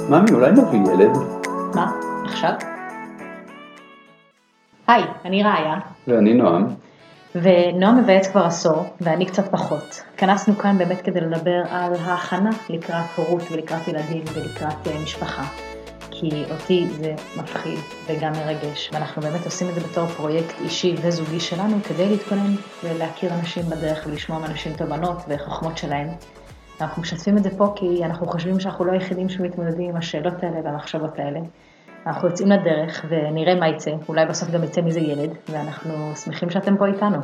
ממי, אולי נביא ילד? מה? עכשיו? היי, אני ראיה. ואני נועם. ונועם מבייץ כבר עשור, ואני קצת פחות. התכנסנו כאן באמת כדי לדבר על ההכנה לקראת הורות ולקראת ילדים ולקראת משפחה. כי אותי זה מפחיד וגם מרגש, ואנחנו באמת עושים את זה בתור פרויקט אישי וזוגי שלנו, כדי להתכונן ולהכיר אנשים בדרך ולשמוע מאנשים תובנות וחוכמות שלהם. אנחנו משתפים את זה פה כי אנחנו חושבים שאנחנו לא היחידים שמתמודדים עם השאלות האלה והמחשבות האלה. אנחנו יוצאים לדרך ונראה מה יצא, אולי בסוף גם יצא מזה ילד, ואנחנו שמחים שאתם פה איתנו.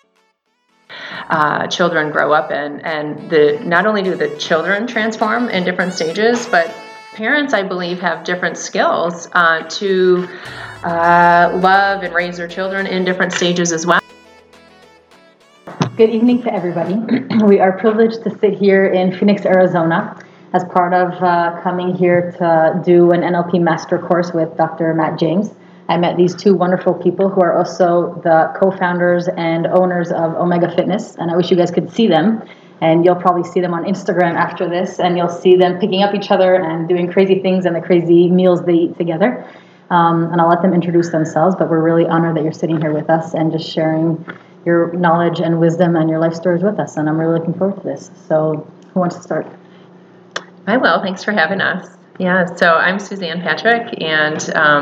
Children grow up and not only do the children transform in different stages, but parents, I believe, have different skills to love and raise their children in different stages as well. Good evening to everybody. We are privileged to sit here in Phoenix, Arizona, as part of coming here to do an NLP master course with Dr. Matt James. I met these two wonderful people who are also the co-founders and owners of Omega Fitness, and I wish you guys could see them. And you'll probably see them on Instagram after this, and you'll see them picking up each other and doing crazy things and the crazy meals they eat together. And I'll let them introduce themselves, but we're really honored that you're sitting here with us and just sharing your knowledge and wisdom and your life stories with us. And I'm really looking forward to this. So who wants to start? I will. Thanks for having us. Yeah, so I'm Suzanne Patrick, and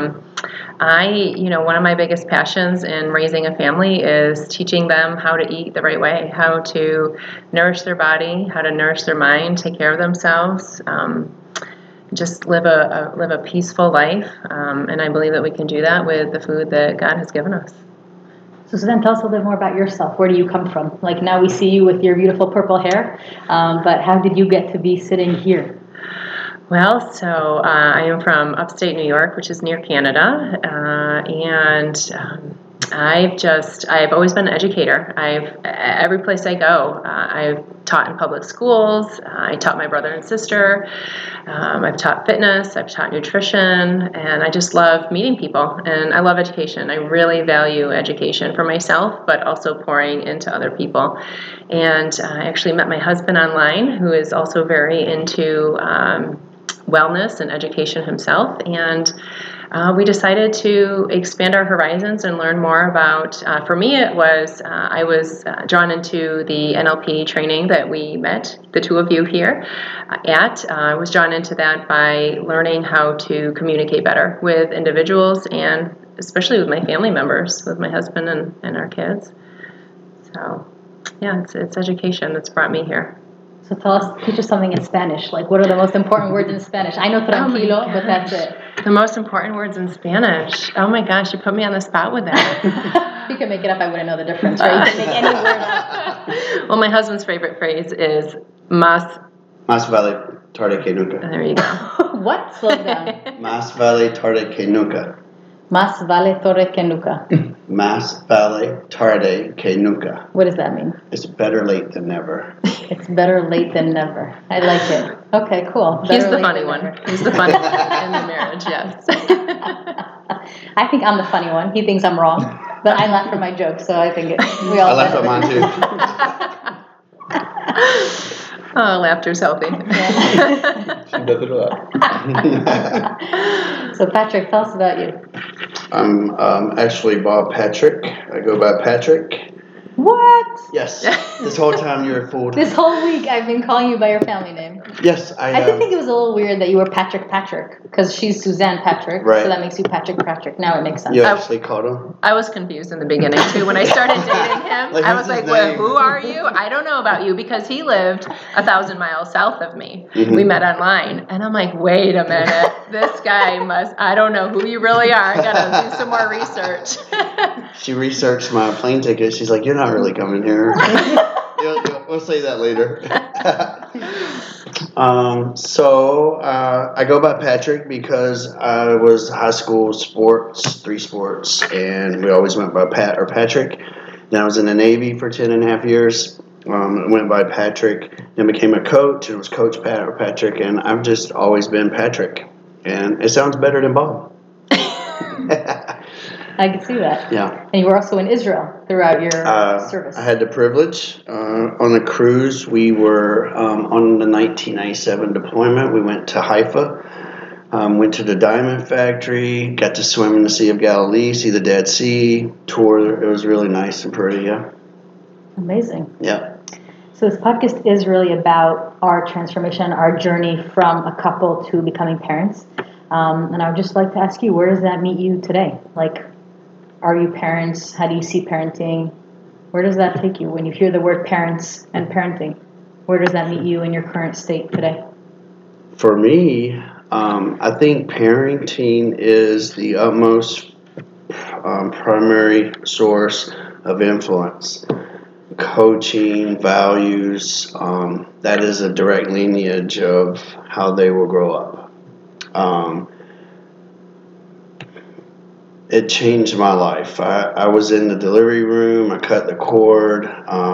one of my biggest passions in raising a family is teaching them how to eat the right way, how to nourish their body, how to nourish their mind, take care of themselves, just live a peaceful life. And I believe that we can do that with the food that God has given us. So Suzanne, tell us a little bit more about yourself. Where do you come from? Like now we see you with your beautiful purple hair, but how did you get to be sitting here? Well, so I am from upstate New York, which is near Canada, and I've always been an educator. Every place I go, I've taught in public schools. I taught my brother and sister. I've taught fitness. I've taught nutrition, and I just love meeting people, and I love education. I really value education for myself, but also pouring into other people. And I actually met my husband online, who is also very into wellness and education himself, and we decided to expand our horizons and learn more about, for me it was, I was drawn into the NLP training that we met, the two of you here at. I was drawn into that by learning how to communicate better with individuals and especially with my family members, with my husband and our kids. So yeah, it's education that's brought me here. So teach us something in Spanish. Like, what are the most important words in Spanish? I know tranquilo, but that's it. The most important words in Spanish. Oh my gosh, you put me on the spot with that. You can make it up. I wouldn't know the difference, right? You can make any word up. Well, my husband's favorite phrase is Más vale tarde que nunca. There you go. What? Slow down. Más vale tarde que nunca. Más vale tarde que nunca. Más vale tarde que nunca. What does that mean? It's better late than never. It's better late than never. I like it. Okay, cool. He's the funny one. He's the funny one in the marriage, yes. I think I'm the funny one. He thinks I'm wrong, but I laugh at my jokes, so I think we all. I laugh at mine too. Oh, laughter's healthy. Yeah. She does it a lot. So Patrick, tell us about you. I'm actually Bob Patrick. I go by Patrick. What? Yes. This whole time you were fooled. This whole week I've been calling you by your family name. Yes, I did think it was a little weird that you were Patrick because she's Suzanne Patrick, right. So that makes you Patrick. Now it makes sense. You actually called him? I was confused in the beginning too. When I started dating him, I was like, well, who are you? I don't know about you, because he lived 1,000 miles south of me. Mm-hmm. We met online, and I'm like, wait a minute, this guy I don't know who you really are. I gotta do some more research. She researched my plane ticket. She's like, you're not really coming here. We'll say that later. I go by Patrick because I was high school sports, 3 sports, and we always went by Pat or Patrick. Then I was in the Navy for 10.5 years. I went by Patrick, then became a coach, and it was Coach Pat or Patrick, and I've just always been Patrick. And it sounds better than Bob. I can see that. Yeah. And you were also in Israel throughout your service. I had the privilege. On a cruise, we were on the 1997 deployment. We went to Haifa. Went to the Diamond Factory, got to swim in the Sea of Galilee, see the Dead Sea, tour. It was really nice and pretty, yeah. Amazing. Yeah. So this podcast is really about our transformation, our journey from a couple to becoming parents. And I would just like to ask you, where does that meet you today? Like, are you parents? How do you see parenting? Where does that take you when you hear the word parents and parenting? Where does that meet you in your current state today? For me, I think parenting is the utmost primary source of influence. Coaching, values, that is a direct lineage of how they will grow up. It changed my life. I was in the delivery room. I cut the cord.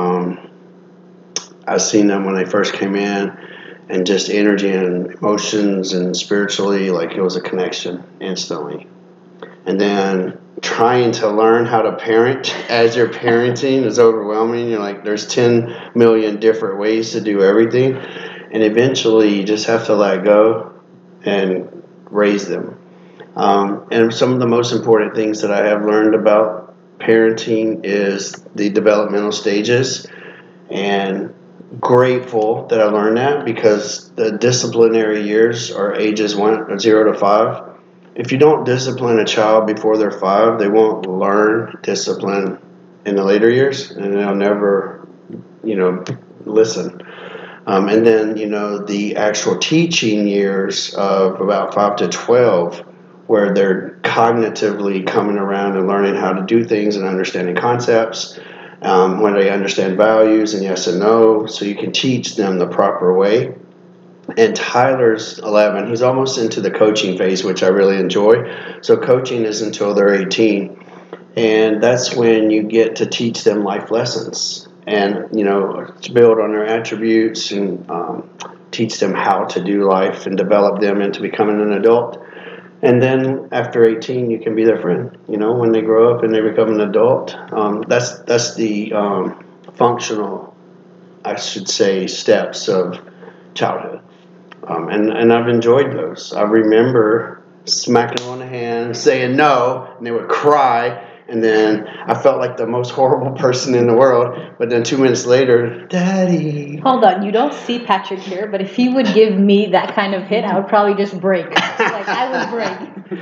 I seen them when they first came in, and just energy and emotions and spiritually, like it was a connection instantly. And then trying to learn how to parent as you're parenting is overwhelming. You're like, there's 10 million different ways to do everything. And eventually you just have to let go and raise them. And some of the most important things that I have learned about parenting is the developmental stages, and grateful that I learned that, because the disciplinary years are ages 0 to 5. If you don't discipline a child before they're 5, they won't learn discipline in the later years, and they'll never, listen. And then, the actual teaching years of about 5 to 12, where they're cognitively coming around and learning how to do things and understanding concepts, when they understand values and yes and no, so you can teach them the proper way. And Tyler's 11. He's almost into the coaching phase, which I really enjoy. So coaching is until they're 18. And that's when you get to teach them life lessons and, to build on their attributes and teach them how to do life and develop them into becoming an adult. And then after 18, you can be their friend. When they grow up and they become an adult, that's the functional, I should say, steps of childhood. And I've enjoyed those. I remember smacking them on the hand, saying no, and they would cry. And then I felt like the most horrible person in the world. But then 2 minutes later, Daddy. Hold on, you don't see Patrick here, but if he would give me that kind of hit, I would probably just break. Like I would break.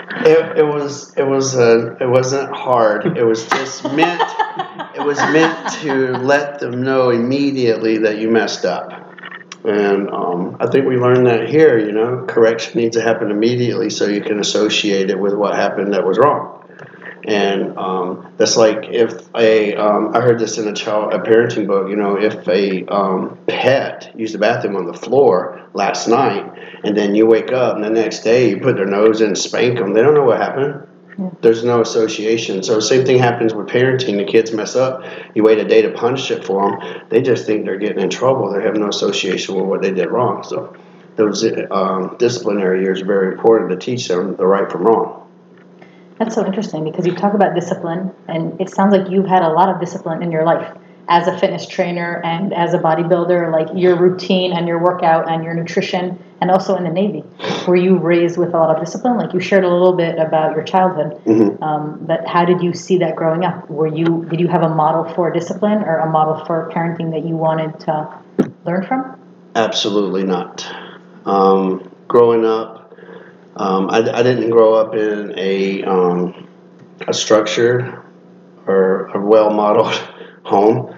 It wasn't hard. It was just meant. It was meant to let them know immediately that you messed up. And I think we learned that here. Correction needs to happen immediately so you can associate it with what happened that was wrong. And that's like if I heard this in a parenting book. If a pet used the bathroom on the floor last night, and then you wake up and the next day you put their nose in and spank them, they don't know what happened. Yeah. There's no association. So the same thing happens with parenting. The kids mess up. You wait a day to punish it for them. They just think they're getting in trouble. They have no association with what they did wrong. So those disciplinary years are very important to teach them the right from wrong. That's so interesting, because you talk about discipline, and it sounds like you've had a lot of discipline in your life as a fitness trainer and as a bodybuilder, like your routine and your workout and your nutrition, and also in the Navy. Were you raised with a lot of discipline? Like you shared a little bit about your childhood, but how did you see that growing up? Did you have a model for discipline or a model for parenting that you wanted to learn from? Absolutely not. Growing up, I didn't grow up in a structure or a well-modeled home.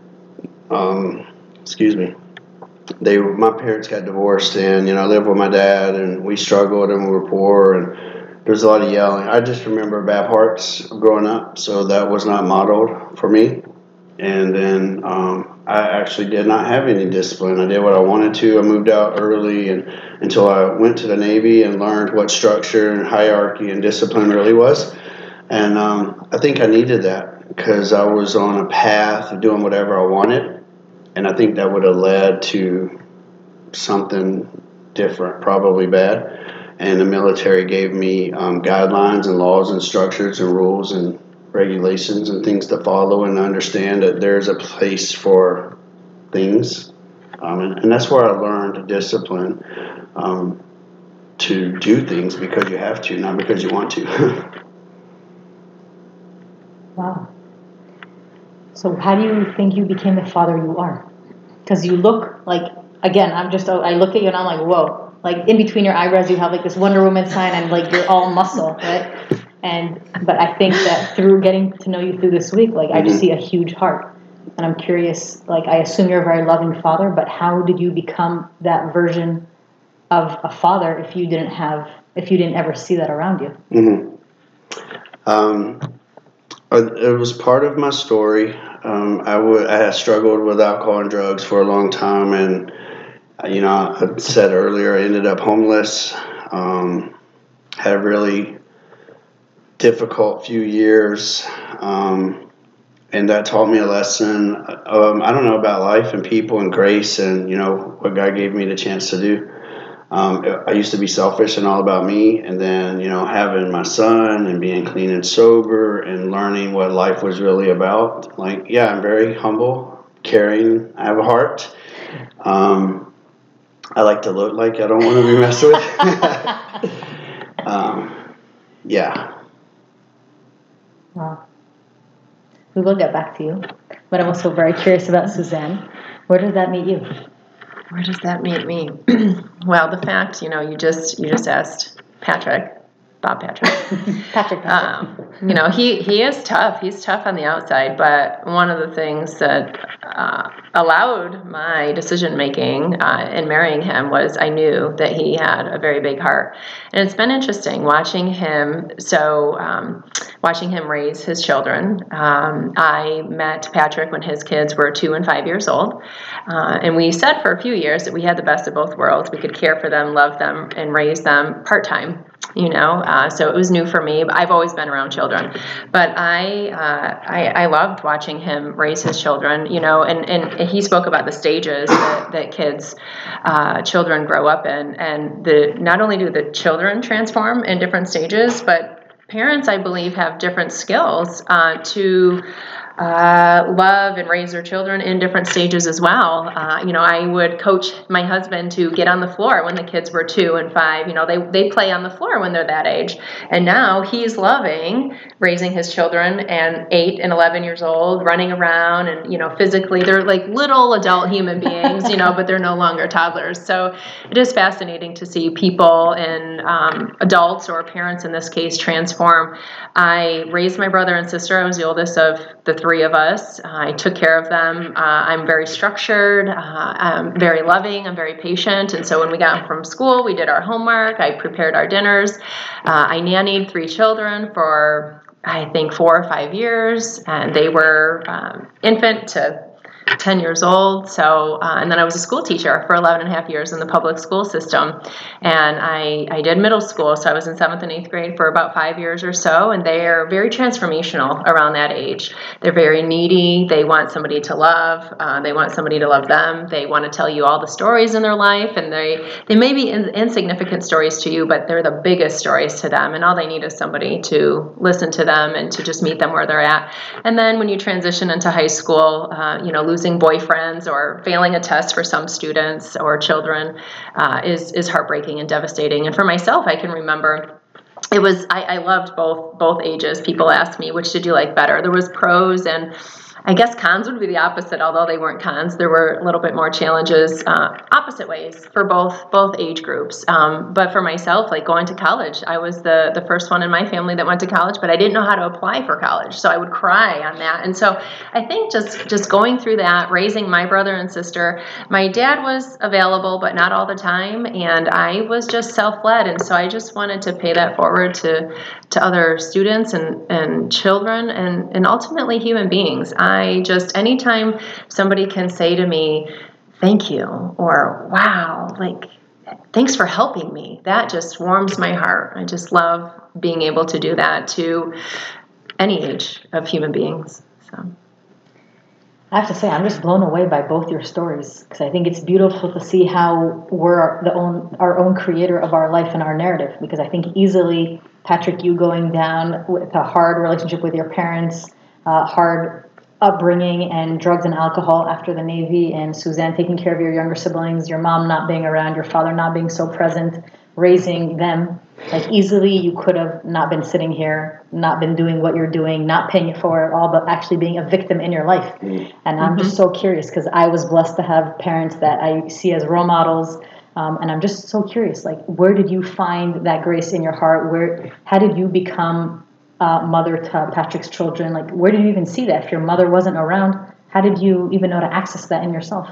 My parents got divorced, and I lived with my dad, and we struggled, and we were poor, and there was a lot of yelling. I just remember bad parts growing up, so that was not modeled for me. And then I actually did not have any discipline. I did what I wanted to. I moved out early until I went to the Navy and learned what structure and hierarchy and discipline really was. And I think I needed that because I was on a path of doing whatever I wanted. And I think that would have led to something different, probably bad. And the military gave me guidelines and laws and structures and rules and regulations and things to follow, and understand that there's a place for things. And that's where I learned discipline. to do things because you have to, not because you want to. Wow. So how do you think you became the father you are? Because you look like, again, I look at you and I'm like, whoa. Like in between your eyebrows, you have like this Wonder Woman sign and like you're all muscle, right? But I think that through getting to know you through this week, like I just see a huge heart. And I'm curious, like I assume you're a very loving father, but how did you become that version of a father if you didn't ever see that around you? It was part of my story. I had struggled with alcohol and drugs for a long time, and I said earlier, I ended up homeless. Had a really difficult few years, and that taught me a lesson. I don't know, about life and people and grace, and what God gave me the chance to do. I used to be selfish and all about me, and then having my son and being clean and sober and learning what life was really about. Like, yeah, I'm very humble, caring. I have a heart. I like to look like I don't want to be messed with. Yeah. Wow. We will get back to you, but I'm also very curious about Suzanne. Where does that meet you? Where does that meet me? Well, the fact, you just asked Bob Patrick. Patrick. He is tough. He's tough on the outside, but one of the things that allowed my decision making in marrying him was I knew that he had a very big heart, and it's been interesting watching him. Watching him raise his children. I met Patrick when his kids were 2 and 5 years old, and we said for a few years that we had the best of both worlds. We could care for them, love them, and raise them part-time. So it was new for me. I've always been around children, but I loved watching him raise his children. And he spoke about the stages that children grow up in, and not only do the children transform in different stages, but parents, I believe, have different skills to love and raise their children in different stages as well. I would coach my husband to get on the floor when the kids were 2 and 5. They play on the floor when they're that age. And now he's loving raising his children and 8 and 11 years old, running around and, physically they're like little adult human beings, but they're no longer toddlers. So it is fascinating to see people and adults, or parents in this case, transform. I raised my brother and sister. I was the oldest of the 3 of us. I took care of them. I'm very structured. I'm very loving. I'm very patient. And so when we got home from school, we did our homework. I prepared our dinners. I nannied 3 children for, I think, 4 or 5 years. And they were infant to 10 years old. So, and then I was a school teacher for 11 and a half years in the public school system. And I did middle school. So I was in 7th and 8th grade for about 5 years or so. And they are very transformational around that age. They're very needy. They want somebody to love. They want somebody to love them. They want to tell you all the stories in their life. And they may be insignificant stories to you, but they're the biggest stories to them. And all they need is somebody to listen to them and to just meet them where they're at. And then when you transition into high school, losing boyfriends or failing a test for some students or children is heartbreaking and devastating. And for myself, I can remember I loved both ages. People asked me, which did you like better? There was pros, and I guess cons would be the opposite, although they weren't cons. There were a little bit more challenges, opposite ways for both age groups. But for myself, like going to college, I was the first one in my family that went to college, but I didn't know how to apply for college. So I would cry on that. And so I think just going through that, raising my brother and sister, my dad was available, but not all the time. And I was just self-led. And so I just wanted to pay that forward to other students and children and ultimately human beings. Anytime somebody can say to me, thank you, or wow, like, thanks for helping me, that just warms my heart. I just love being able to do that to any age of human beings. So I have to say, I'm just blown away by both your stories, because I think it's beautiful to see how we're our own creator of our life and our narrative. Because I think easily, Patrick, you going down with a hard relationship with your parents, hard upbringing and drugs and alcohol after the Navy, and Suzanne taking care of your younger siblings, your mom not being around, your father not being so present, raising them. Like easily you could have not been sitting here, not been doing what you're doing, not paying it for it all, but actually being a victim in your life. And I'm just so curious because I was blessed to have parents that I see as role models. And I'm just so curious, like, where did you find that grace in your heart? How did you become mother to Patrick's children? Like, where did you even see that? If your mother wasn't around, how did you even know to access that in yourself?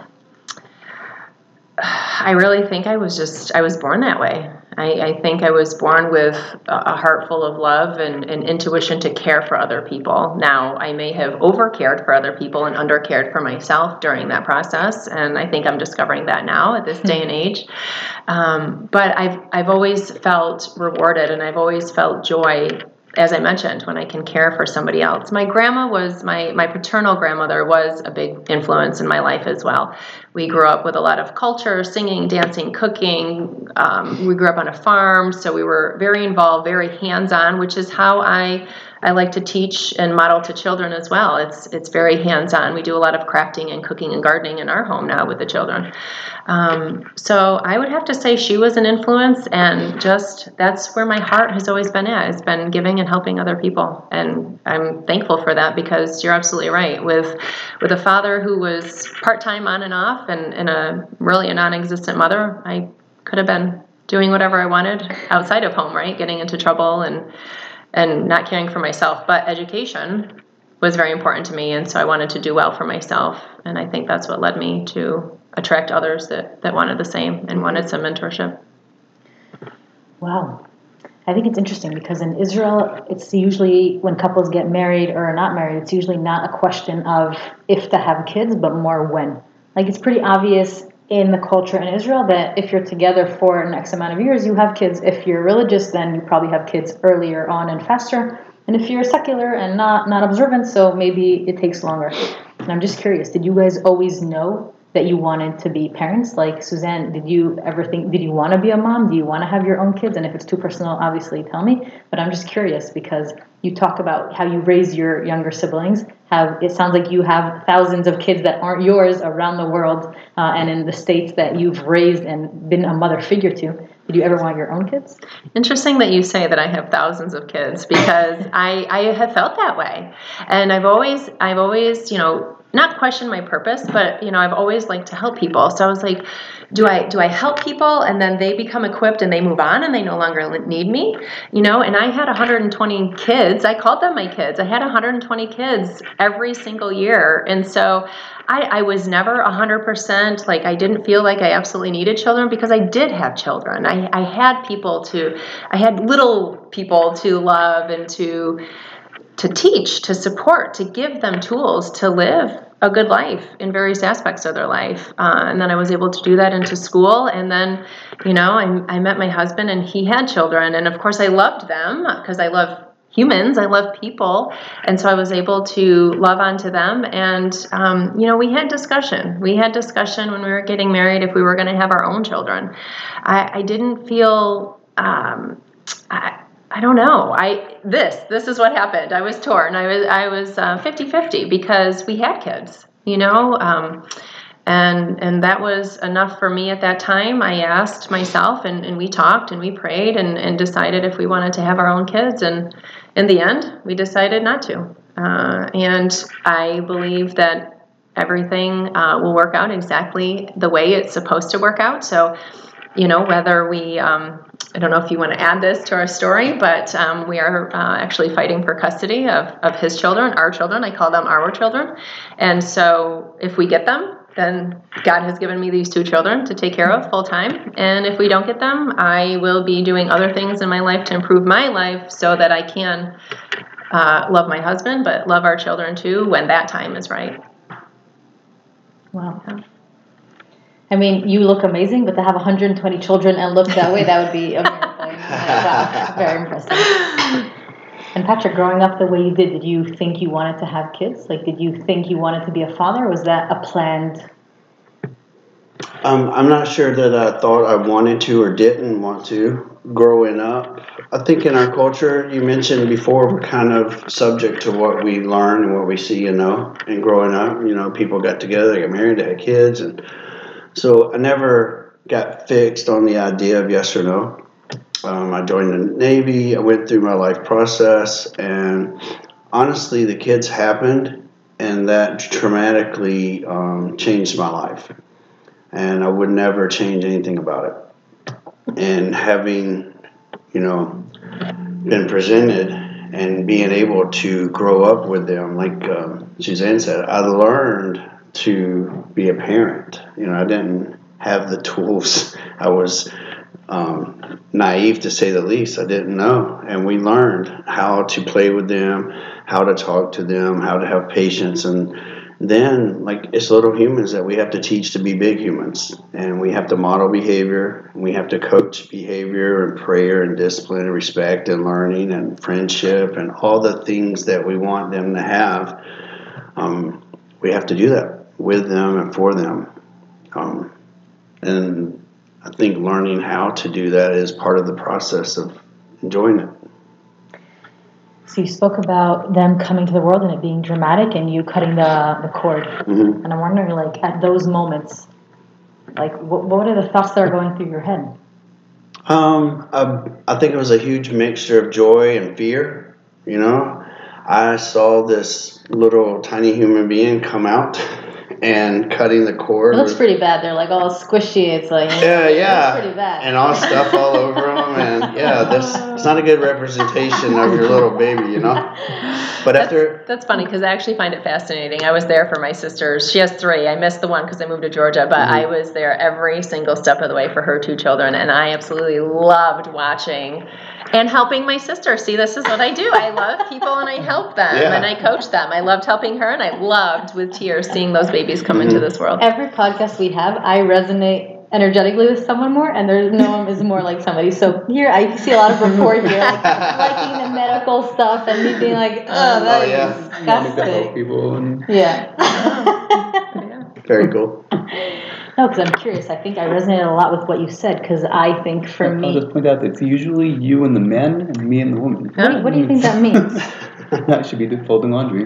I really think I was born that way. I think I was born with a heart full of love and intuition to care for other people. Now, I may have over-cared for other people and under-cared for myself during that process, and I think I'm discovering that now at this day and age. But I've always felt rewarded, and I've always felt joy, as I mentioned, when I can care for somebody else. My grandma was, my paternal grandmother was a big influence in my life as well. We grew up with a lot of culture, singing, dancing, cooking. We grew up on a farm, so we were very involved, very hands-on, which is how I like to teach and model to children as well. It's very hands-on. We do a lot of crafting and cooking and gardening in our home now with the children. So I would have to say she was an influence, and just that's where my heart has always been at. It's been giving and helping other people, and I'm thankful for that because you're absolutely right. With a father who was part-time on and off, and a non-existent mother, I could have been doing whatever I wanted outside of home, right? Getting into trouble and not caring for myself. But education was very important to me, and so I wanted to do well for myself, and I think that's what led me to attract others that wanted the same and wanted some mentorship. Wow. I think it's interesting because in Israel, it's usually when couples get married or are not married, it's usually not a question of if to have kids, but more when. Like, it's pretty obvious in the culture in Israel that if you're together for an X amount of years, you have kids. If you're religious, then you probably have kids earlier on and faster. And if you're secular and not observant, so maybe it takes longer. And I'm just curious, did you guys always know that you wanted to be parents? Like, Suzanne, did you ever think, did you want to be a mom? Do you want to have your own kids? And if it's too personal, obviously tell me. But I'm just curious because you talk about how you raise your younger siblings. It sounds like you have thousands of kids that aren't yours around the world and in the states that you've raised and been a mother figure to. Did you ever want your own kids? Interesting that you say that I have thousands of kids because I have felt that way. And I've always, not questioned my purpose, but, I've always liked to help people. So I was like, do I help people and then they become equipped and they move on and they no longer need me? And I had 120 kids. I called them my kids. I had 120 kids every single year. And so I was never 100%, like, I didn't feel like I absolutely needed children because I did have children. I had little people to love and to teach, to support, to give them tools to live a good life in various aspects of their life. And then I was able to do that into school. And then, I met my husband and he had children. And of course I loved them because I love humans. I love people. And so I was able to love onto them. And, we had discussion. We had discussion when we were getting married if we were going to have our own children. I didn't feel, I don't know. This is what happened. I was torn. I was 50-50 because we had kids, and that was enough for me at that time. I asked myself and we talked and we prayed and decided if we wanted to have our own kids. And in the end, we decided not to. And I believe that everything will work out exactly the way it's supposed to work out. So, whether we, I don't know if you want to add this to our story, but we are actually fighting for custody of his children, our children. I call them our children. And so if we get them, then God has given me these two children to take care of full time. And if we don't get them, I will be doing other things in my life to improve my life so that I can love my husband, but love our children too when that time is right. Wow. Yeah. I mean, you look amazing, but to have 120 children and look that way, that would be a miracle. Wow, very impressive. And Patrick, growing up the way you did you think you wanted to have kids? Like, did you think you wanted to be a father? Or was that a planned I'm not sure that I thought I wanted to or didn't want to growing up. I think in our culture, you mentioned before, we're kind of subject to what we learn and what we see and know. And growing up, people got together, they got married, they had kids. And so I never got fixed on the idea of yes or no. I joined the Navy, I went through my life process, and honestly, the kids happened, and that dramatically changed my life. And I would never change anything about it. And having, been presented and being able to grow up with them, like Suzanne said, I learned to be a parent. I didn't have the tools. I was naive, to say the least. I didn't know. And we learned how to play with them, how to talk to them, how to have patience. And then, it's little humans that we have to teach to be big humans. And we have to model behavior. And we have to coach behavior and prayer and discipline and respect and learning and friendship and all the things that we want them to have. We have to do that with them and for them. And I think learning how to do that is part of the process of enjoying it. So you spoke about them coming to the world and it being dramatic and you cutting the cord. Mm-hmm. And I'm wondering, at those moments, what are the thoughts that are going through your head? I think it was a huge mixture of joy and fear. I saw this little tiny human being come out and cutting the cord. It looks pretty bad. They're all squishy. It's yeah, it looks pretty bad. And all stuff all over them, and it's not a good representation of your little baby, But that's funny because I actually find it fascinating. I was there for my sisters. She has 3. I missed the one because I moved to Georgia, but I was there every single step of the way for her 2 children, and I absolutely loved watching and helping my sister. See, this is what I do. I love people and I help them and I coach them. I loved helping her, and I loved with tears seeing those babies come into this world. Every podcast we have, I resonate energetically with someone more, and there's no one is more like somebody. So here I see a lot of rapport here, liking the medical stuff and me being that is disgusting. People Very cool. No, because I'm curious. I think I resonated a lot with what you said, because I think for me... I'll just point out that it's usually you and the man and me and the woman. What do you think that means? That should be the folding laundry.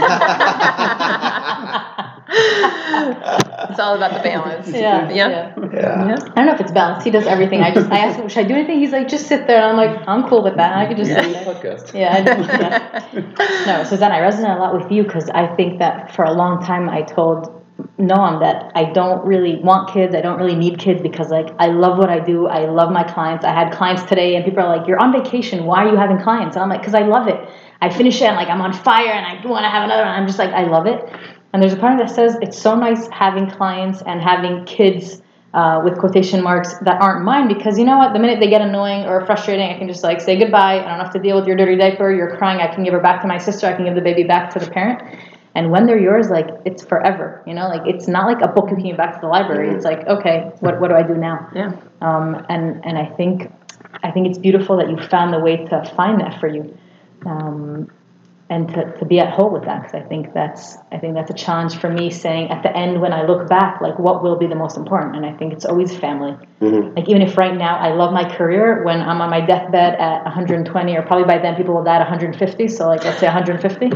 It's all about the balance. Yeah. I don't know if it's balanced. He does everything. I asked him, should I do anything? He's like, just sit there. And I'm like, I'm cool with that. I could just sit there. Podcast. No, Suzanne, I resonate a lot with you, because I think that for a long time I told Noam that I don't really want kids. I don't really need kids, because I love what I do. I love my clients. I had clients today and people are like, you're on vacation. Why are you having clients? And I'm like, because I love it. I finish it and I'm on fire and I want to have another one. I'm just I love it. And there's a part that says it's so nice having clients and having kids with quotation marks that aren't mine, because you know what? The minute they get annoying or frustrating, I can just say goodbye. I don't have to deal with your dirty diaper. You're crying. I can give her back to my sister. I can give the baby back to the parent. And when they're yours, it's forever. It's not like a book you can give back to the library. It's okay, what do I do now? Yeah. And I think it's beautiful that you found the way to find that for you. And to be at whole with that, because I think that's a challenge for me, saying at the end when I look back, what will be the most important? And I think it's always family. Mm-hmm. Even if right now I love my career, when I'm on my deathbed at 120, or probably by then people will die at 150, so let's say 150.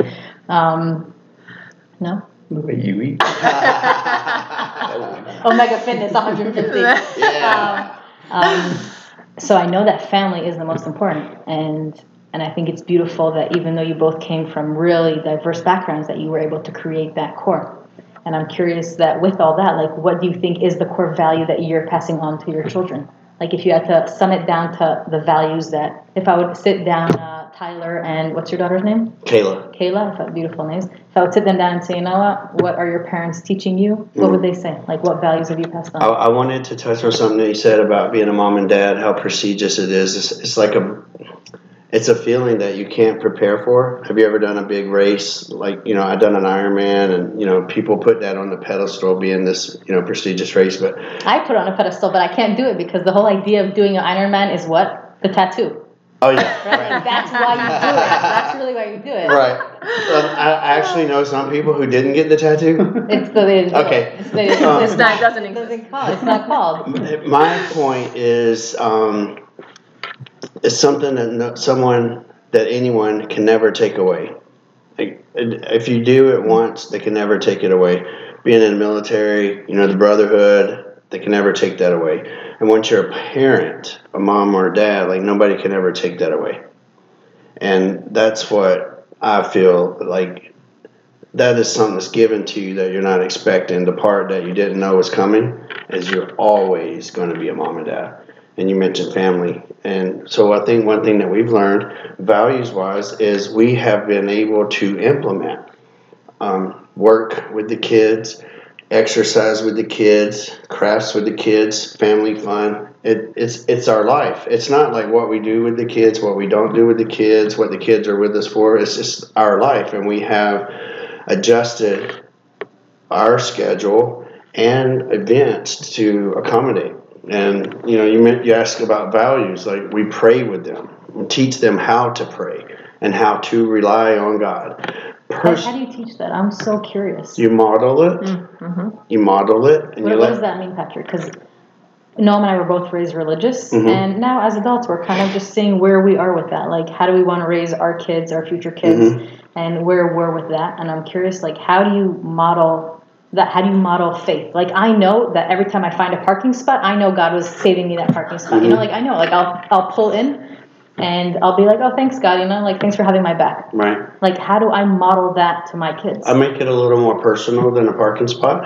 No? The way you eat. Omega Fitness 150. Yeah. So I know that family is the most important, and I think it's beautiful that even though you both came from really diverse backgrounds, that you were able to create that core. And I'm curious that with all that, what do you think is the core value that you're passing on to your children? If you had to sum it down to the values that, if I would sit down, Tyler and what's your daughter's name? Kayla, beautiful names. If I would sit them down and say, you know what are your parents teaching you? What would they say? What values have you passed on? I wanted to touch on something that you said about being a mom and dad, how prestigious it is. It's a feeling that you can't prepare for. Have you ever done a big race? I've done an Ironman, and, people put that on the pedestal being this, prestigious race. But I put it on a pedestal, but I can't do it because the whole idea of doing an Ironman is what? The tattoo. Oh yeah. Right? Right. That's why you do it. That's really why you do it. Right. I actually know some people who didn't get the tattoo. It's the way to do Okay. it. It's the way to do it. It's not, it doesn't It exist. doesn't call. It's not called. My point is, it's something that someone that anyone can never take away. Like, if you do it once, they can never take it away. Being in the military, the brotherhood, they can never take that away. And once you're a parent, a mom or a dad, like nobody can ever take that away. And that's what I feel like. That is something that's given to you that you're not expecting. The part that you didn't know was coming is you're always going to be a mom and dad. And you mentioned family. And so I think one thing that we've learned, values-wise, is we have been able to implement work with the kids, exercise with the kids, crafts with the kids, family fun. It's our life. It's not like what we do with the kids, what we don't do with the kids, what the kids are with us for. It's just our life. And we have adjusted our schedule and events to accommodate. And you ask about values. Like, we pray with them and teach them how to pray and how to rely on God. How do you teach that? I'm so curious. You model it. Mm-hmm. You model it, and What does that mean, Patrick? Because Noam and I were both raised religious, and now as adults, we're kind of just seeing where we are with that. Like, how do we want to raise our kids, our future kids, and where we're with that? And I'm curious, like, how do you model that? How do you model faith? Like, I know that every time I find a parking spot, I know God was saving me that parking spot. Like, I know, like, I'll pull in, and I'll be like, oh, thanks, God, like, thanks for having my back. Right. Like, how do I model that to my kids? I make it a little more personal than a parking spot.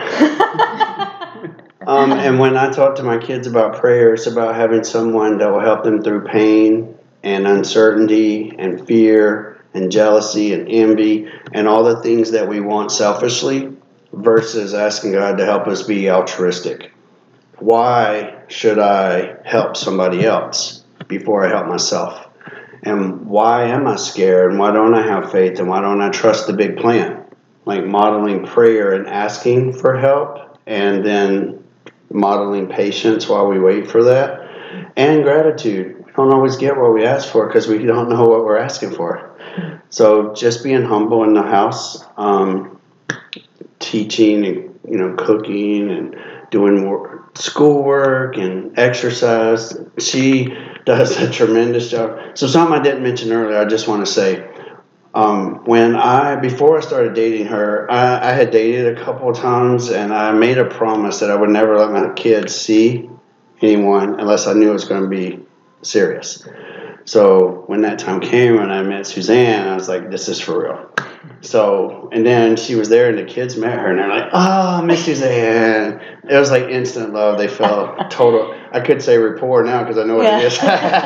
And when I talk to my kids about prayer, it's about having someone that will help them through pain and uncertainty and fear and jealousy and envy and all the things that we want selfishly, versus asking God to help us be altruistic. Why should I help somebody else before I help myself? And why am I scared? And why don't I have faith? And why don't I trust the big plan? Like modeling prayer and asking for help, and then modeling patience while we wait for that, and gratitude. We don't always get what we ask for because we don't know what we're asking for. So just being humble in the house, teaching and cooking and doing more schoolwork and exercise. She does a tremendous job. So something I didn't mention earlier, I just want to say, before I started dating her, I had dated a couple of times, and I made a promise that I would never let my kids see anyone unless I knew it was going to be serious. So when that time came and I met Suzanne, I was like, this is for real. So, and then she was there and the kids met her and they're like, oh, Miss Suzanne. It was like instant love. They felt total, I could say rapport now because I know what it is.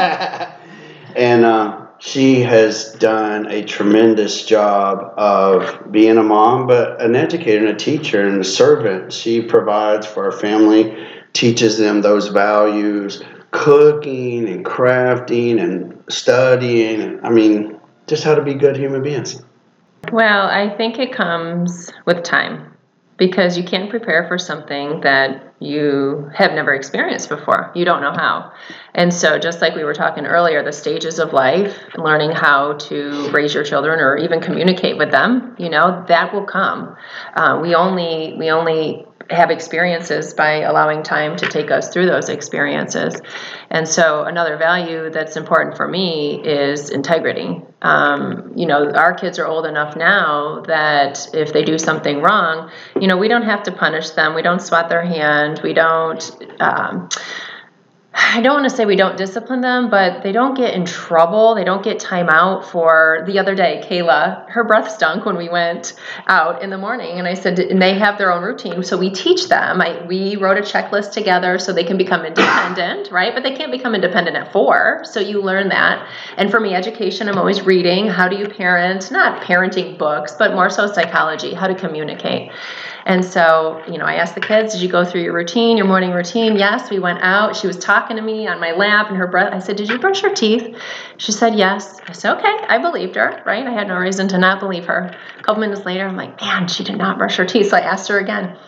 And she has done a tremendous job of being a mom, but an educator and a teacher and a servant. She provides for our family, teaches them those values, cooking and crafting and studying, and just how to be good human beings. Well, I think it comes with time, because you can't prepare for something that you have never experienced before. You don't know how. And so just like we were talking earlier, the stages of life, learning how to raise your children or even communicate with them, that will come. We only have experiences by allowing time to take us through those experiences. And so another value that's important for me is integrity. Our kids are old enough now that if they do something wrong, we don't have to punish them. We don't swat their hand. We don't, I don't want to say we don't discipline them, but they don't get in trouble. They don't get time out. For the other day, Kayla, her breath stunk when we went out in the morning. And I said, and they have their own routine. So we teach them. We wrote a checklist together so they can become independent, right? But they can't become independent at 4. So you learn that. And for me, education, I'm always reading. How do you parent? Not parenting books, but more so psychology, how to communicate. And so, I asked the kids, did you go through your routine, your morning routine? Yes, we went out. She was talking to me on my lap and her breath. I said, did you brush your teeth? She said, yes. I said, okay. I believed her, right? I had no reason to not believe her. A couple minutes later, I'm like, man, she did not brush her teeth. So I asked her again.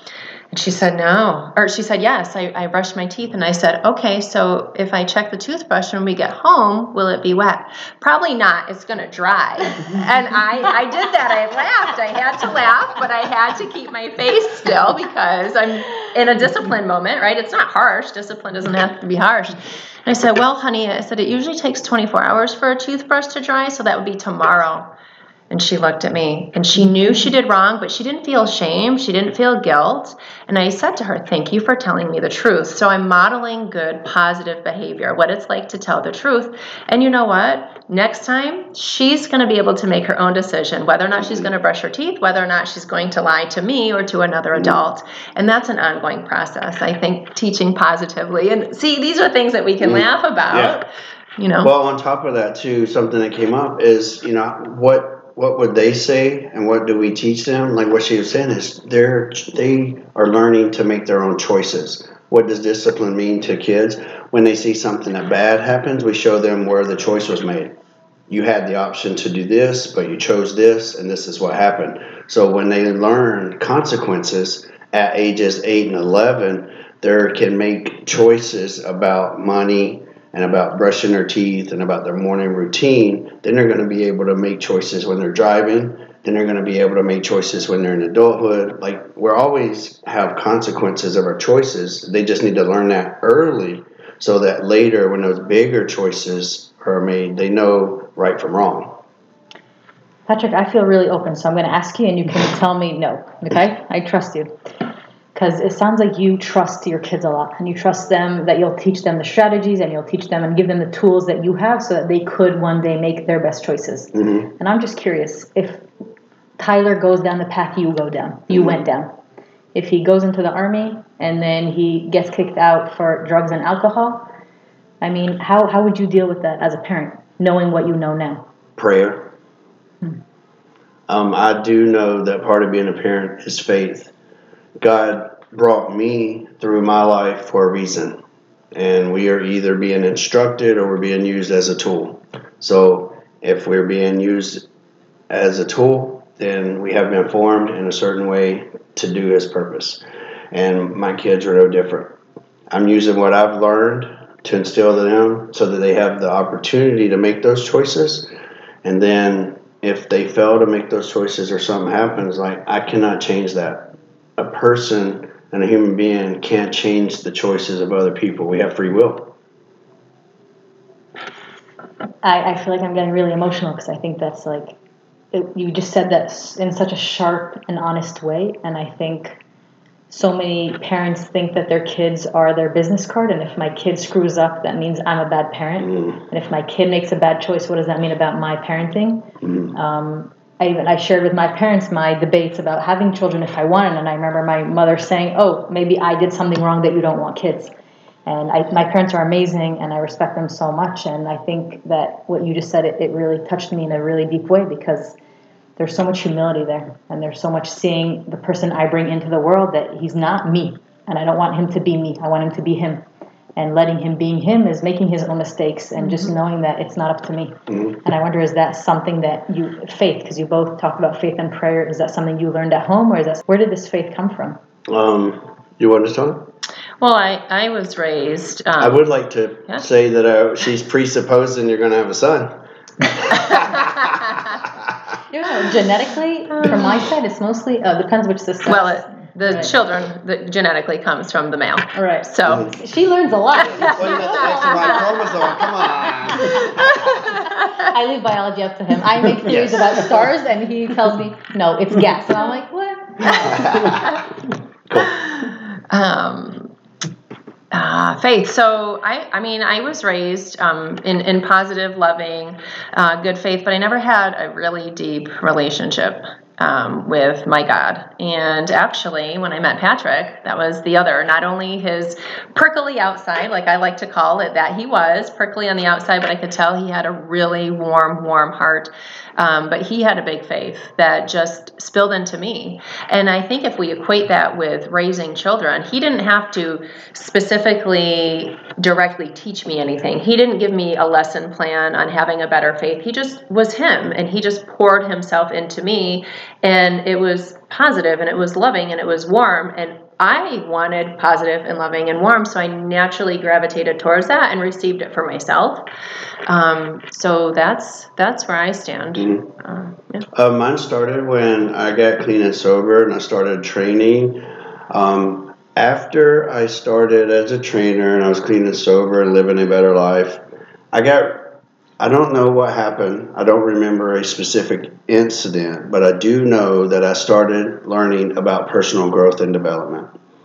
And she said, no. Or she said, yes, I brushed my teeth. And I said, okay, so if I check the toothbrush when we get home, will it be wet? Probably not. It's going to dry. And I did that. I laughed. I had to laugh, but I had to keep my face still because I'm in a discipline moment, right? It's not harsh. Discipline doesn't have to be harsh. And I said, well, honey, I said, it usually takes 24 hours for a toothbrush to dry, so that would be tomorrow. And she looked at me, and she knew she did wrong, but she didn't feel shame. She didn't feel guilt. And I said to her, thank you for telling me the truth. So I'm modeling good, positive behavior, what it's like to tell the truth. And you know what? Next time, she's going to be able to make her own decision, whether or not she's going to brush her teeth, whether or not she's going to lie to me or to another adult. And that's an ongoing process, I think, teaching positively. And see, these are things that we can laugh about. Yeah. Well, on top of that, too, something that came up is, what would they say and what do we teach them? Like what she was saying is they are learning to make their own choices. What does discipline mean to kids? When they see something that bad happens, we show them where the choice was made. You had the option to do this, but you chose this, and this is what happened. So when they learn consequences at ages 8 and 11, they can make choices about money and about brushing their teeth and about their morning routine. Then they're going to be able to make choices when they're driving. Then they're going to be able to make choices when they're in adulthood. Like, we always have consequences of our choices. They just need to learn that early so that later when those bigger choices are made, they know right from wrong. Patrick, I feel really open, so I'm going to ask you and you can tell me no, okay? I trust you. Because it sounds like you trust your kids a lot, and you trust them that you'll teach them the strategies and you'll teach them and give them the tools that you have so that they could one day make their best choices. Mm-hmm. And I'm just curious, if Tyler goes down the path you went down, if he goes into the Army and then he gets kicked out for drugs and alcohol, I mean, how would you deal with that as a parent, knowing what you know now? Prayer. I do know that part of being a parent is faith. God brought me through my life for a reason, and we are either being instructed or we're being used as a tool. So if we're being used as a tool, then we have been formed in a certain way to do His purpose. And my kids are no different. I'm using what I've learned to instill in them so that they have the opportunity to make those choices. And then if they fail to make those choices or something happens, like, I cannot change that. A person and a human being can't change the choices of other people. We have free will. I feel like I'm getting really emotional because I think that's like, you just said that in such a sharp and honest way. And I think so many parents think that their kids are their business card. And if my kid screws up, that means I'm a bad parent. And if my kid makes a bad choice, what does that mean about my parenting? I shared with my parents my debates about having children if I wanted, and I remember my mother saying, oh, maybe I did something wrong that you don't want kids. And my parents are amazing, and I respect them so much, and I think that what you just said, it really touched me in a really deep way, because there's so much humility there, and there's so much seeing the person I bring into the world that he's not me, and I don't want him to be me. I want him to be him. And letting him being him is making his own mistakes and just knowing that it's not up to me. And I wonder, is that something that faith, because you both talked about faith and prayer, is that something you learned at home, or where did this faith come from? You want to talk? Well, I was raised... I would like to say that she's presupposing you're going to have a son. Genetically, from my side, it's mostly, depends which system. Well, the children that genetically comes from the male. All right. So she learns a lot. That's the right chromosome. Come on. I leave biology up to him. I make theories about stars, and he tells me, no, it's gas. And I'm like, what? Faith. So I was raised in positive, loving, good faith, but I never had a really deep relationship with my God. And actually, when I met Patrick, that was the other, not only his prickly outside, like I like to call it, that he was prickly on the outside, but I could tell he had a really warm heart. But he had a big faith that just spilled into me. And I think if we equate that with raising children, he didn't have to specifically directly teach me anything. He didn't give me a lesson plan on having a better faith. He just was him, and he just poured himself into me. And it was positive, and it was loving, and it was warm, and I wanted positive and loving and warm, so I naturally gravitated towards that and received it for myself. So that's where I stand. Mine started when I got clean and sober, and I started training. After I started as a trainer and I was clean and sober and living a better life, I don't know what happened. I don't remember a specific incident, but I do know that I started learning about personal growth and development.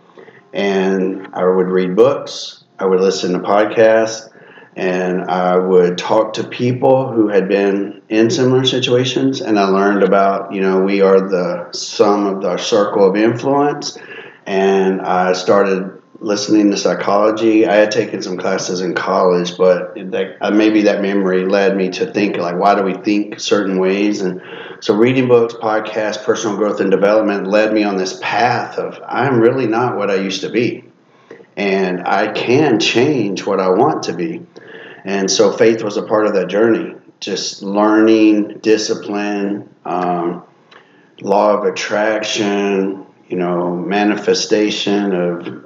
And I would read books, I would listen to podcasts, and I would talk to people who had been in similar situations. And I learned about, we are the sum of our circle of influence. And I started listening to psychology. I had taken some classes in college, but maybe that memory led me to think, like, why do we think certain ways? And so reading books, podcasts, personal growth and development led me on this path of I'm really not what I used to be. And I can change what I want to be. And so faith was a part of that journey. Just learning, discipline, law of attraction, manifestation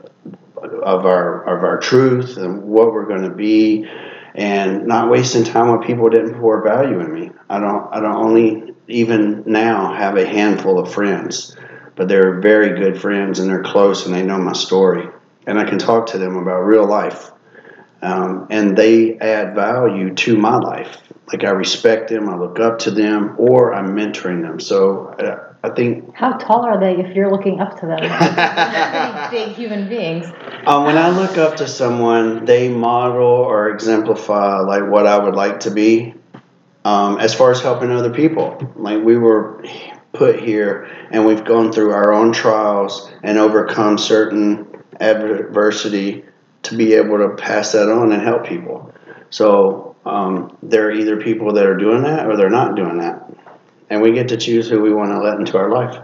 of our truth and what we're going to be, and not wasting time with people who didn't pour value in me. I don't only even now have a handful of friends, but they're very good friends and they're close and they know my story, and I can talk to them about real life, and they add value to my life. Like, I respect them, I look up to them, or I'm mentoring them. So I think... How tall are they if you're looking up to them? They're pretty big human beings. When I look up to someone, they model or exemplify like what I would like to be. As far as helping other people, like, we were put here and we've gone through our own trials and overcome certain adversity to be able to pass that on and help people. So there are either people that are doing that or they're not doing that. And we get to choose who we want to let into our life.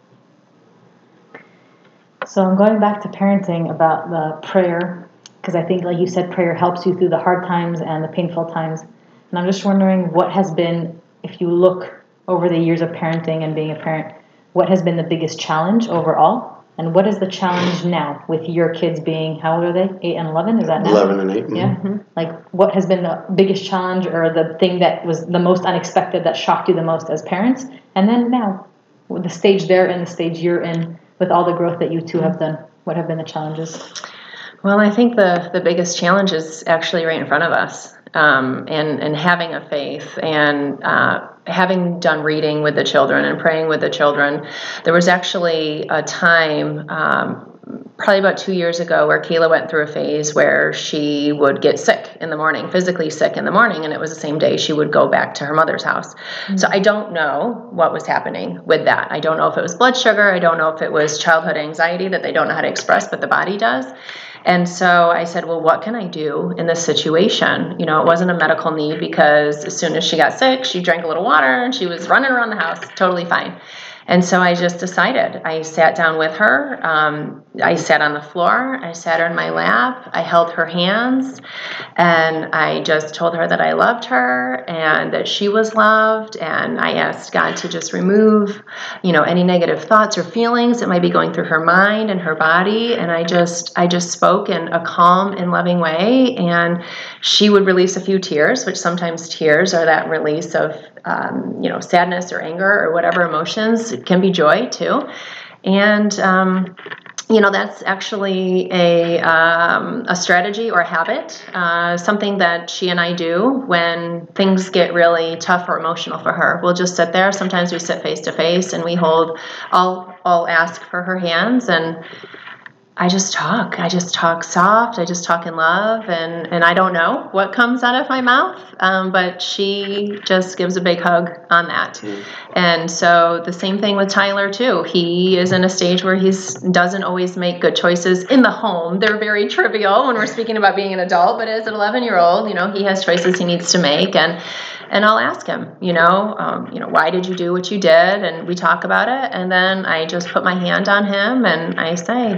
So I'm going back to parenting about the prayer, because I think, like you said, prayer helps you through the hard times and the painful times. And I'm just wondering what has been, if you look over the years of parenting and being a parent, what has been the biggest challenge overall? And what is the challenge now with your kids being, how old are they? 8 and 11? Is that now? 11 and 8. Yeah. Mm-hmm. Like, what has been the biggest challenge or the thing that was the most unexpected that shocked you the most as parents? And then now, with the stage they're in, the stage you're in, with all the growth that you two have done, what have been the challenges? Well, I think the biggest challenge is actually right in front of us, and having a faith and having done reading with the children and praying with the children. There was actually a time, probably about 2 years ago, where Kayla went through a phase where she would get sick in the morning, physically sick in the morning, and it was the same day she would go back to her mother's house. Mm-hmm. So I don't know what was happening with that. I don't know if it was blood sugar. I don't know if it was childhood anxiety that they don't know how to express, but the body does. And so I said, well, what can I do in this situation? It wasn't a medical need, because as soon as she got sick, she drank a little water and she was running around the house totally fine. And so I just decided. I sat down with her. I sat on the floor. I sat her in my lap. I held her hands. And I just told her that I loved her and that she was loved. And I asked God to just remove, any negative thoughts or feelings that might be going through her mind and her body. And I just spoke in a calm and loving way. And she would release a few tears, which sometimes tears are that release of sadness or anger or whatever emotions. It can be joy too. And, that's actually a strategy or a habit, something that she and I do when things get really tough or emotional for her. We'll just sit there. Sometimes we sit face to face and I'll ask for her hands, and I just talk soft. I just talk in love, and I don't know what comes out of my mouth, but she just gives a big hug on that. Mm. And so the same thing with Tyler too. He is in a stage where he doesn't always make good choices in the home. They're very trivial when we're speaking about being an adult, but as an 11-year-old, he has choices he needs to make, and I'll ask him, why did you do what you did? And we talk about it. And then I just put my hand on him and I say,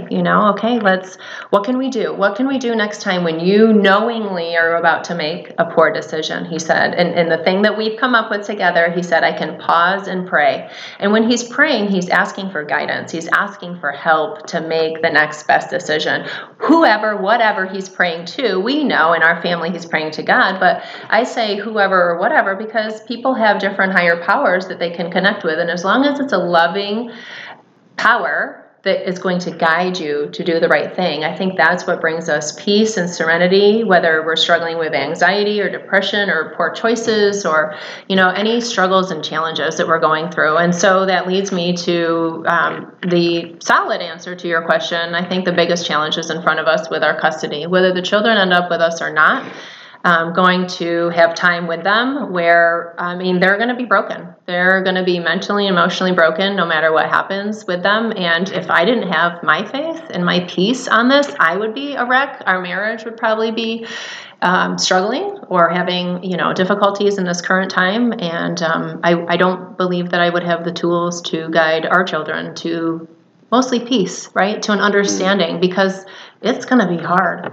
okay, what can we do? What can we do next time when you knowingly are about to make a poor decision? He said, and the thing that we've come up with together, he said, I can pause and pray. And when he's praying, he's asking for guidance. He's asking for help to make the next best decision. Whoever, whatever he's praying to, we know in our family he's praying to God, but I say whoever or whatever because people have different higher powers that they can connect with. And as long as it's a loving power that is going to guide you to do the right thing, I think that's what brings us peace and serenity, whether we're struggling with anxiety or depression or poor choices or, any struggles and challenges that we're going through. And so that leads me to the solid answer to your question. I think the biggest challenge is in front of us with our custody, whether the children end up with us or not. Going to have time with them where, they're going to be broken. They're going to be mentally and emotionally broken no matter what happens with them. And if I didn't have my faith and my peace on this, I would be a wreck. Our marriage would probably be struggling or having, difficulties in this current time. And I don't believe that I would have the tools to guide our children to mostly peace, right? To an understanding, because it's going to be hard,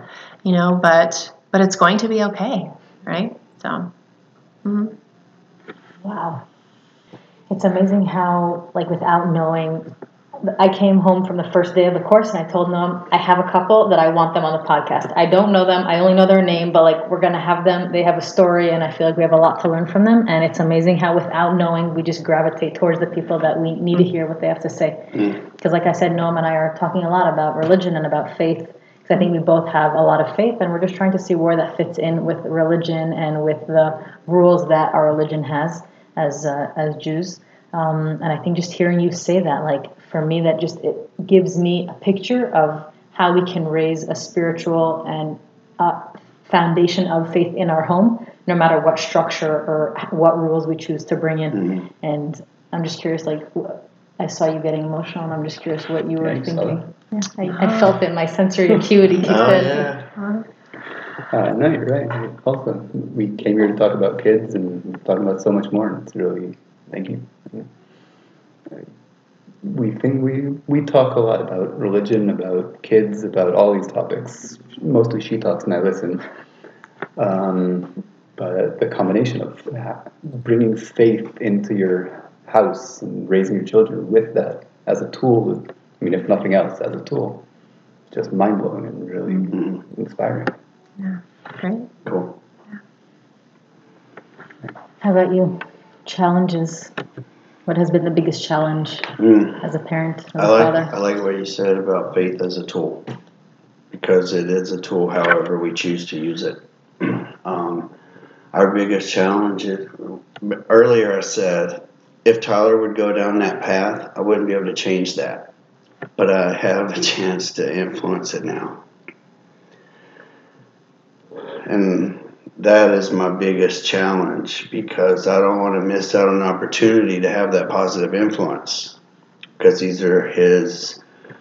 but it's going to be okay, right? So, mm-hmm. Wow. It's amazing how, without knowing, I came home from the first day of the course and I told them, I have a couple that I want them on the podcast. I don't know them. I only know their name, but we're going to have them. They have a story and I feel like we have a lot to learn from them. And it's amazing how without knowing, we just gravitate towards the people that we need to hear what they have to say. Because like I said, Noam and I are talking a lot about religion and about faith. I think we both have a lot of faith, and we're just trying to see where that fits in with religion and with the rules that our religion has as Jews. And I think just hearing you say that, for me, that just it gives me a picture of how we can raise a spiritual and foundation of faith in our home, no matter what structure or what rules we choose to bring in. Mm-hmm. And I'm just curious, I saw you getting emotional, and I'm just curious what you were thinking. Yeah, I felt it. My sensory acuity kicked in. Yeah. No, you're right. Also, we came here to talk about kids and talk about so much more. It's really, thank you. We talk a lot about religion, about kids, about all these topics. Mostly she talks and I listen. But the combination of bringing faith into your house and raising your children with that as a tool, if nothing else, as a tool, it's just mind-blowing and really inspiring. Yeah, great. Cool. Yeah. How about you? Challenges. What has been the biggest challenge as a parent, as a father? I like what you said about faith as a tool, because it is a tool however we choose to use it. Our biggest challenge is, earlier I said, if Tyler would go down that path, I wouldn't be able to change that. But I have a chance to influence it now. And that is my biggest challenge, because I don't want to miss out on an opportunity to have that positive influence, because these are his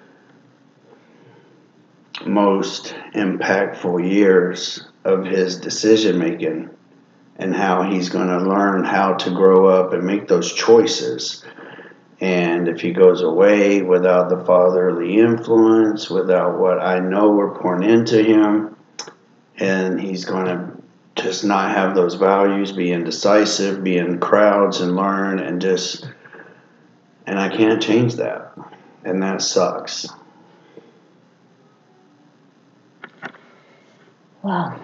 most impactful years of his decision making, and how he's going to learn how to grow up and make those choices. And if he goes away without the fatherly influence, without what I know we're pouring into him, and he's going to just not have those values, be indecisive, be in crowds and learn and I can't change that. And that sucks. Wow.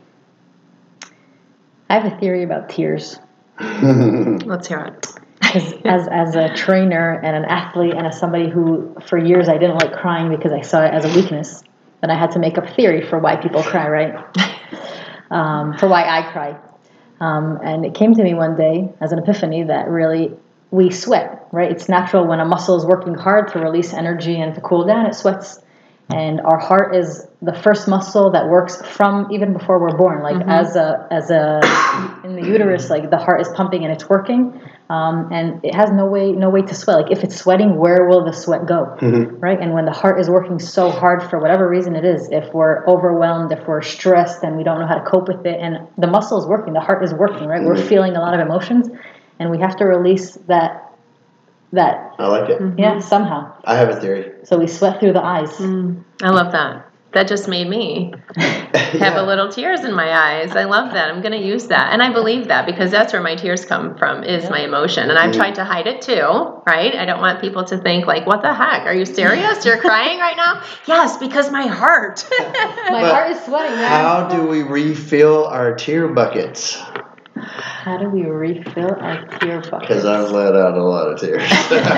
I have a theory about tears. Let's hear it. As a trainer and an athlete and as somebody who for years I didn't like crying because I saw it as a weakness, then I had to make up a theory for why people cry, right? For why I cry. And it came to me one day as an epiphany that really we sweat, right? It's natural when a muscle is working hard to release energy and to cool down, it sweats. And our heart is the first muscle that works from even before we're born. As in the uterus, the heart is pumping and it's working, and it has no way to sweat. If it's sweating, where will the sweat go, right? And when the heart is working so hard for whatever reason it is, if we're overwhelmed, if we're stressed, and we don't know how to cope with it, and the muscle is working, the heart is working, right? We're feeling a lot of emotions, and we have to release that that, I like it. yeah, somehow. I have a theory. So we sweat through the eyes. I love that. That just made me have a little tears in my eyes. I love that. I'm going to use that. And I believe that because that's where my tears come from is my emotion. And I've tried to hide it too, right? I don't want people to think like, what the heck? Are you serious? You're crying right now? Yes, because my heart. My heart is sweating. How do we refill our tear buckets? How do we refill our tear buckets? Because I've let out a lot of tears.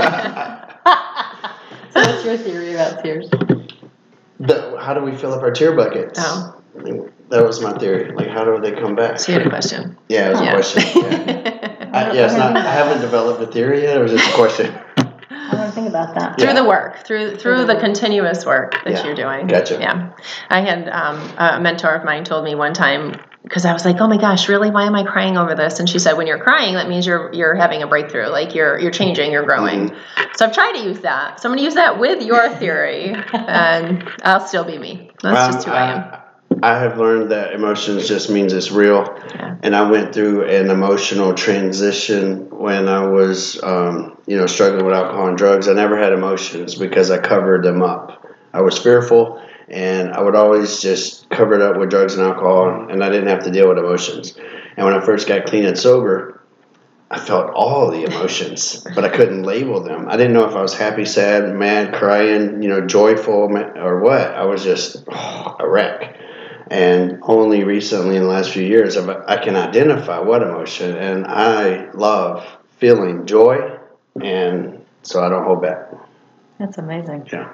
So what's your theory about tears? How do we fill up our tear buckets? Oh. That was my theory. Like, how do they come back? So you had a question. Yeah, it was a question. Yeah. I haven't developed a theory yet. It was just a question. I want to think about that. Through the work, through the continuous work that you're doing. Gotcha. Yeah. I had a mentor of mine told me one time, because I was like, oh my gosh, really? Why am I crying over this? And she said, when you're crying, that means you're having a breakthrough. Like you're changing, you're growing. So I've tried to use that. So I'm going to use that with your theory, and I'll still be me. That's just who I am. I have learned that emotions just means it's real. Yeah. And I went through an emotional transition when I was, struggling with alcohol and drugs. I never had emotions because I covered them up. I was fearful, and I would always just cover it up with drugs and alcohol, and I didn't have to deal with emotions. And when I first got clean and sober, I felt all the emotions, but I couldn't label them. I didn't know if I was happy, sad, mad, crying, joyful, or what. I was just a wreck. And only recently in the last few years, I can identify what emotion, and I love feeling joy, and so I don't hold back. That's amazing. Yeah.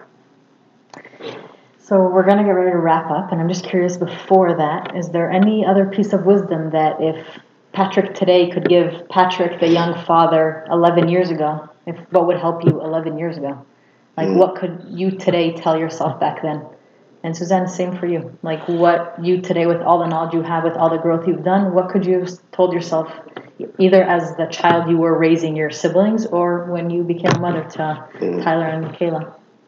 So we're going to get ready to wrap up, and I'm just curious before that, is there any other piece of wisdom that if Patrick today could give Patrick, the young father, 11 years ago, what would help you 11 years ago? Like, what could you today tell yourself back then? And Suzanne, same for you. Like, what you today, with all the knowledge you have, with all the growth you've done, what could you have told yourself, either as the child you were raising your siblings or when you became a mother to Tyler and Kayla?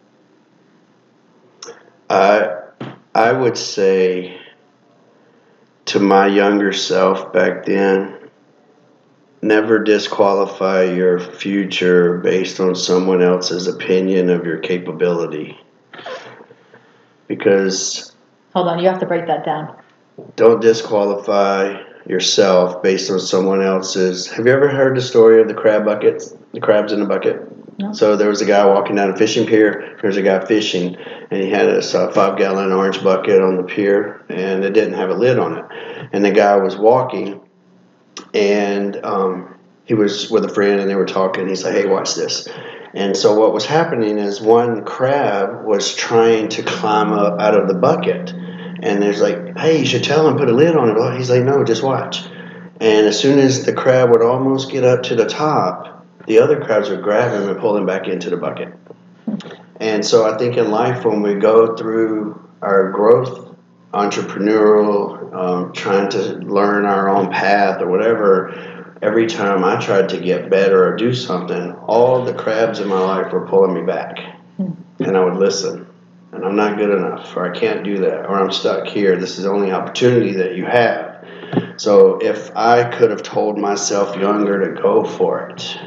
I would say to my younger self back then, never disqualify your future based on someone else's opinion of your capability. Because... Hold on, you have to break that down. Don't disqualify yourself based on someone else's... Have you ever heard the story of the crab buckets? The crabs in the bucket? No. So there was a guy walking down a fishing pier. There was a guy fishing, and he had a 5-gallon orange bucket on the pier, and it didn't have a lid on it. And the guy was walking, and he was with a friend, and they were talking. He's like, hey, watch this. And so what was happening is one crab was trying to climb up out of the bucket. And there's like, hey, you should tell him, put a lid on it. He's like, no, just watch. And as soon as the crab would almost get up to the top, the other crabs would grab him and pull him back into the bucket. And so I think in life, when we go through our growth, entrepreneurial, trying to learn our own path or whatever, every time I tried to get better or do something, all the crabs in my life were pulling me back. And I would listen. And I'm not good enough, or I can't do that, or I'm stuck here. This is the only opportunity that you have. So if I could have told myself younger to go for it,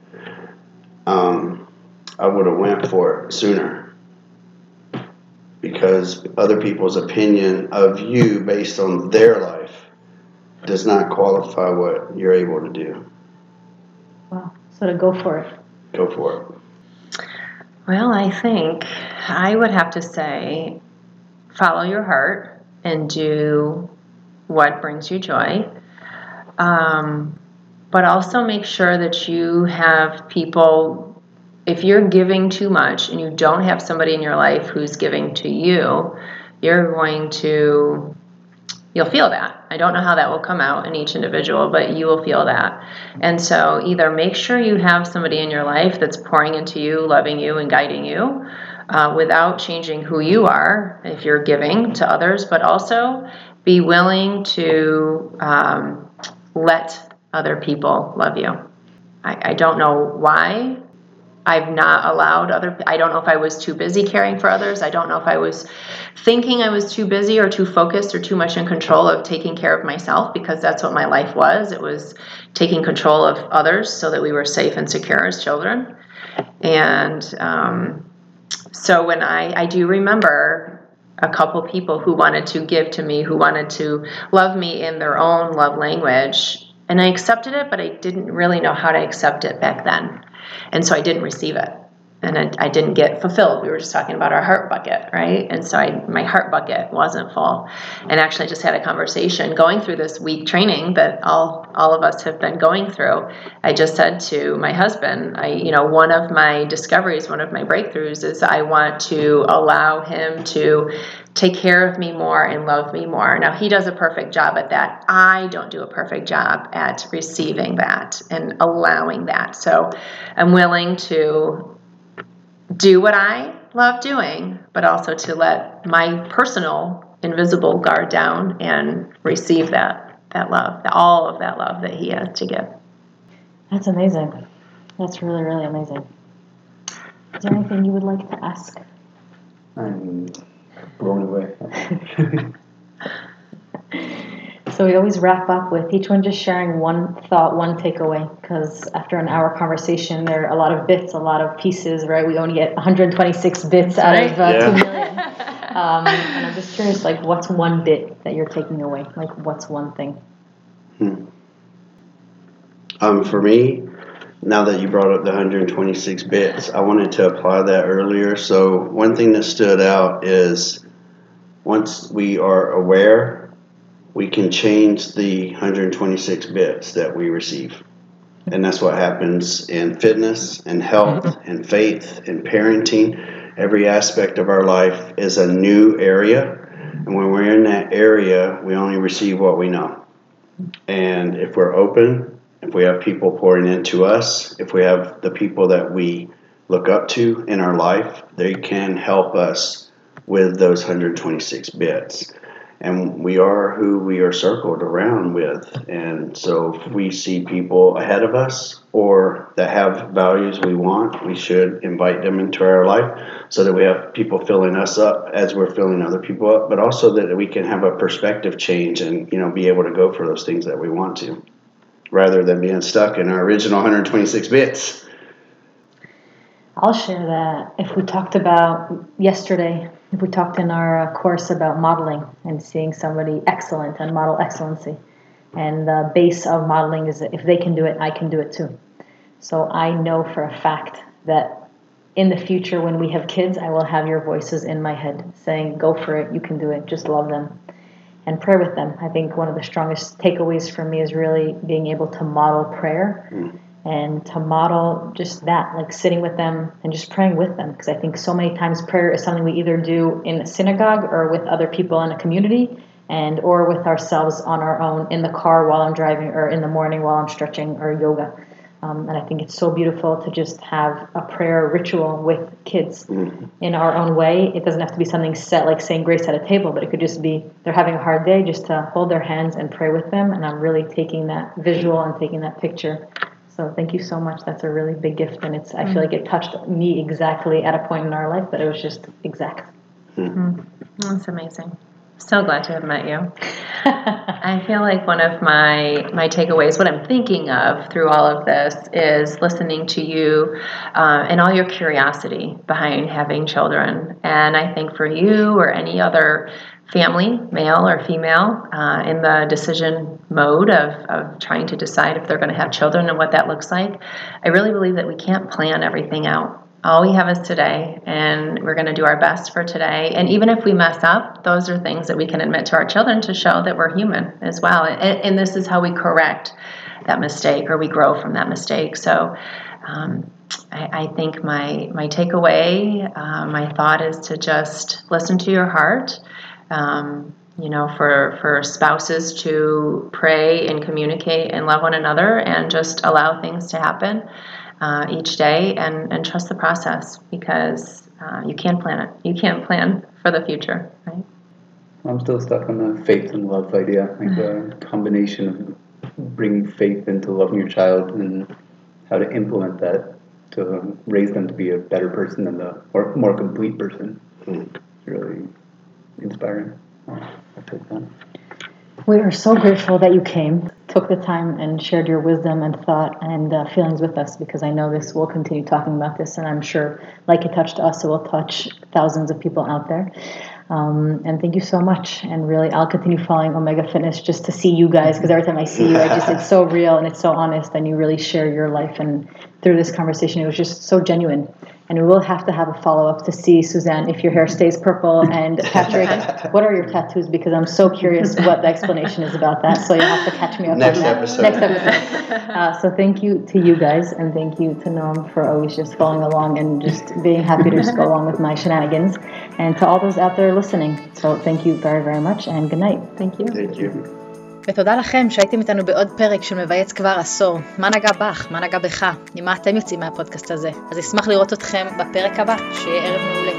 I would have went for it sooner. Because other people's opinion of you based on their life does not qualify what you're able to do. Wow. So to go for it. Go for it. Well, I think I would have to say follow your heart and do what brings you joy. But also make sure that you have people, if you're giving too much and you don't have somebody in your life who's giving to you, you'll feel that. I don't know how that will come out in each individual, but you will feel that. And so either make sure you have somebody in your life that's pouring into you, loving you, and guiding you without changing who you are if you're giving to others, but also be willing to let other people love you. I don't know why I've not allowed I don't know if I was too busy caring for others. I don't know if I was thinking I was too busy or too focused or too much in control of taking care of myself, because that's what my life was. It was taking control of others so that we were safe and secure as children. And so when I do remember a couple people who wanted to give to me, who wanted to love me in their own love language, and I accepted it, but I didn't really know how to accept it back then. And so I didn't receive it, and I didn't get fulfilled. We were just talking about our heart bucket, right? And so my heart bucket wasn't full. And actually I just had a conversation going through this week training that all of us have been going through. I just said to my husband, one of my discoveries, one of my breakthroughs is I want to allow him to take care of me more and love me more. Now, he does a perfect job at that. I don't do a perfect job at receiving that and allowing that. So I'm willing to do what I love doing, but also to let my personal invisible guard down and receive that love, all of that love that he has to give. That's amazing. That's really, really amazing. Is there anything you would like to ask? I'm blown away. So we always wrap up with each one just sharing one thought, one takeaway, because after an hour conversation, there are a lot of bits, a lot of pieces, right? We only get 126 bits out of 2 million. And I'm just curious, like, what's one bit that you're taking away? Like, what's one thing? For me, now that you brought up the 126 bits, I wanted to apply that earlier. So one thing that stood out is once we are aware, we can change the 126 bits that we receive. And that's what happens in fitness and health and faith and parenting. Every aspect of our life is a new area. And when we're in that area, we only receive what we know. And if we're open, if we have people pouring into us, if we have the people that we look up to in our life, they can help us with those 126 bits. And we are who we are circled around with. And so if we see people ahead of us or that have values we want, we should invite them into our life so that we have people filling us up as we're filling other people up, but also that we can have a perspective change and, be able to go for those things that we want to, rather than being stuck in our original 126 bits. I'll share that if we talked about yesterday, if we talked in our course about modeling and seeing somebody excellent and model excellency. And the base of modeling is that if they can do it, I can do it too. So I know for a fact that in the future when we have kids, I will have your voices in my head saying, go for it, you can do it, just love them. And pray with them. I think one of the strongest takeaways for me is really being able to model prayer. And to model just that, like sitting with them and just praying with them. Because I think so many times prayer is something we either do in a synagogue or with other people in a community or with ourselves on our own in the car while I'm driving or in the morning while I'm stretching or yoga. And I think it's so beautiful to just have a prayer ritual with kids in our own way. It doesn't have to be something set like saying grace at a table, but it could just be they're having a hard day, just to hold their hands and pray with them. And I'm really taking that visual and taking that picture. So thank you so much. That's a really big gift, and I feel like it touched me exactly at a point in our life, but it was just exact. That's amazing. So glad to have met you. I feel like one of my takeaways, what I'm thinking of through all of this, is listening to you and all your curiosity behind having children. And I think for you or any other family, male or female, in the decision mode of trying to decide if they're going to have children and what that looks like, I really believe that we can't plan everything out. All we have is today, and we're going to do our best for today. And even if we mess up, those are things that we can admit to our children to show that we're human as well. And this is how we correct that mistake, or we grow from that mistake. So I think my takeaway, my thought is to just listen to your heart. For spouses to pray and communicate and love one another and just allow things to happen each day and trust the process, because you can't plan it. You can't plan for the future, right? I'm still stuck on the faith and love idea. I think the combination of bringing faith into loving your child and how to implement that to raise them to be a better person and or more complete person. It's really inspiring. I took that. We are so grateful that you came, took the time and shared your wisdom and thought and feelings with us, because I know we'll continue talking about this, and I'm sure like it touched us, it will touch thousands of people out there. And thank you so much. And really, I'll continue following Omega Fitness just to see you guys, because every time I see you, it's so real and it's so honest, and you really share your life. And through this conversation, it was just so genuine. And we will have to have a follow-up to see, Suzanne, if your hair stays purple. And Patrick, what are your tattoos? Because I'm so curious what the explanation is about that. So you'll have to catch me up Next on that. episode. Next episode. So thank you to you guys, and thank you to Noam for always just following along and just being happy to just go along with my shenanigans. And to all those out there listening. So thank you very, very much, and good night. Thank you. Thank you. ותודה לכם שהייתם איתנו בעוד פרק של מבייץ כבר עשור. מה נגע בך? מה נגע בך? עם מה אתם יוצאים מהפודקאסט הזה? אז אשמח לראות אתכם בפרק הבא. שיהיה ערב מעולה.